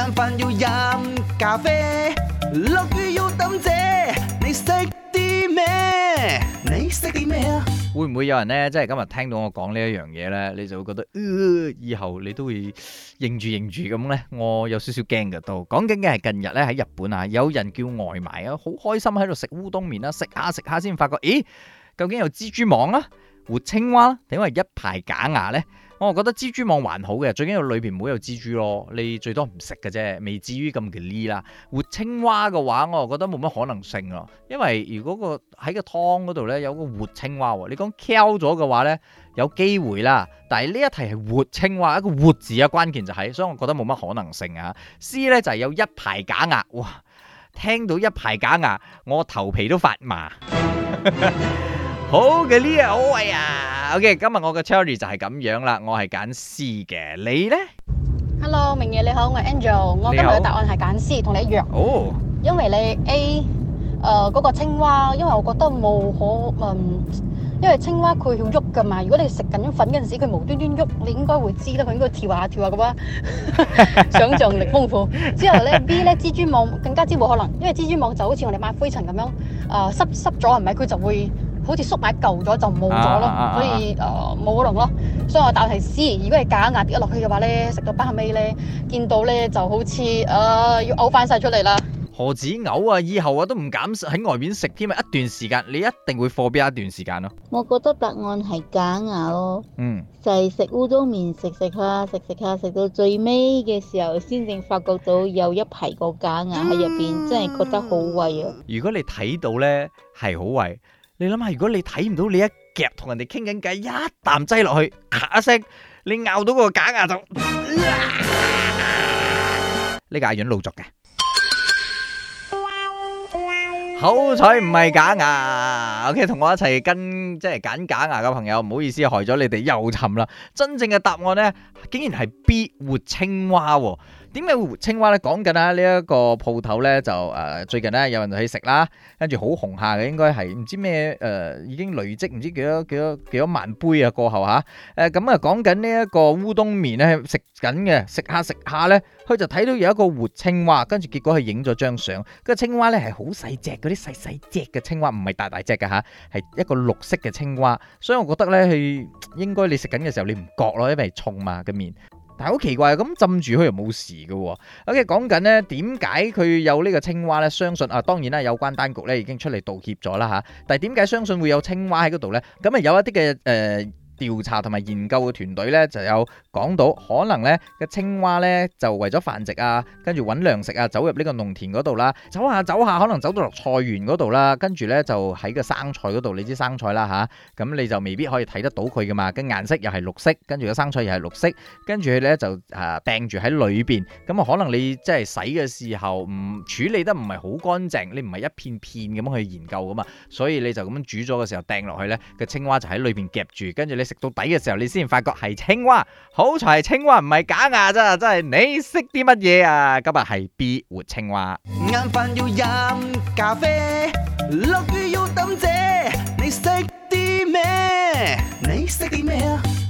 飯要飲咖啡，落雨要抌遮，你識啲咩？你識啲咩啊？ 會唔會有人呢？即係今日聽到我講呢一樣嘢呢，你就會覺得，以後你都會認住咁呢？我有少少驚嘅都。講緊嘅係近日呢，喺日本啊，有人叫外賣啊，好開心喺度食烏冬麵啦，食下先發覺，咦，究竟有蜘蛛網啦、活青蛙啦，定係一排假牙呢？我覺得蜘蛛網還好嘅，最緊要裏邊唔好有蜘蛛咯，你最多唔食嘅啫，未至於咁嘅呢啦。活青蛙嘅話，我就覺得冇乜可能性咯，因為如果喺個湯嗰度呢，有個活青蛙喎，你講 kill 咗嘅話呢，有機會啦，但係呢一題係活青蛙，一個活字啊，關鍵就係，所以我覺得冇乜可能性啊。C 呢就係有一排假牙，哇！聽到一排假牙，我頭皮都發麻。好嘅呢啊，好喂啊 ！OK， 今日我嘅 theory 就係咁樣啦，我係揀 C 嘅，你呢 Hello， 明夜你好，我係 Angel， 我今日嘅答案係揀 C， 同你一樣。 哦， 因為你 A， 嗰個青蛙，因為我覺得因為青蛙佢要喐噶嘛，如果你食緊粉嗰陣時，佢無端端喐，你應該會知啦，佢應該跳下咁啊，想像力豐富。之後咧 B 咧蜘蛛網更加之冇可能，因為蜘蛛網就好似我哋抹灰塵咁樣，濕咗係咪佢就會好似縮埋舊咗就冇咗咯，所以冇可能咯。所以我答係 C。如果係假牙跌咗落去嘅話咧，食到包後尾咧，見到咧就好似要嘔翻晒出嚟啦。 何止嘔啊！以後都唔敢喺外面食添啊！一段時間你一定會貨邊一段時間咯。 我覺得答案係假牙咯。就係食烏冬麵食到最尾嘅時候，先至發覺到有一排個假牙喺入邊，真係覺得好胃啊！ 如果你睇到呢係好胃，你諗下，如果你睇唔到，你一夾同人哋傾緊偈，一啖擠落去，咔一聲，你咬到個假牙就，呢個係軟老作嘅。好彩唔係假牙 ，OK， 同我一齊即係揀假牙嘅朋友，唔好意思，害咗你哋又沉啦。真正嘅答案呢，竟然係 B 活青蛙喎。點解會活青蛙呢？講緊呢一個鋪頭呢，就最近呢有人去食啦，跟住好紅下嘅，應該係唔知咩已經累積唔知幾多萬杯啊過後嚇。咁講緊呢一個烏冬麵呢，食緊嘅，食下呢，佢就睇到有一個活青蛙，跟住結果佢影咗張相。個青蛙呢係好細隻，嗰啲細隻嘅青蛙，唔係大隻嘅嚇，係一個綠色嘅青蛙。所以我覺得呢，佢應該你食緊嘅時候你唔覺咯，因為重嘛個麵。但係好奇怪，咁浸住佢又冇事嘅喎。OK， 講緊呢點解佢有呢個青蛙呢？相信當然啦，有關單局呢已經出嚟道歉咗啦嚇。但係點解相信會有青蛙喺嗰度呢？咁有一啲嘅調查同埋研究嘅團隊咧，就有講到可能咧個青蛙咧就為咗繁殖啊，跟住揾糧食啊，走入呢個農田嗰度啦，走下可能走到落菜園嗰度啦，跟住咧就喺個生菜嗰度，你知生菜啦吓，咁你就未必可以睇得到佢噶嘛，跟顏色又係綠色，跟住個生菜又係綠色，跟住佢咧就掟住喺裏邊，咁可能你即係洗嘅時候唔處理得唔係好乾淨，你唔係一片片咁去研究噶嘛，所以你就咁樣煮咗嘅時候掟落去咧，個青蛙就喺裏邊夾住，跟住你食到底嘅時候，你先發覺係青蛙，好彩係青蛙唔係假牙咋，真係你識啲乜嘢啊？今日係 B 活青蛙。 晏飯要飲咖啡，落雨要抌遮，你識啲咩？你識啲咩啊？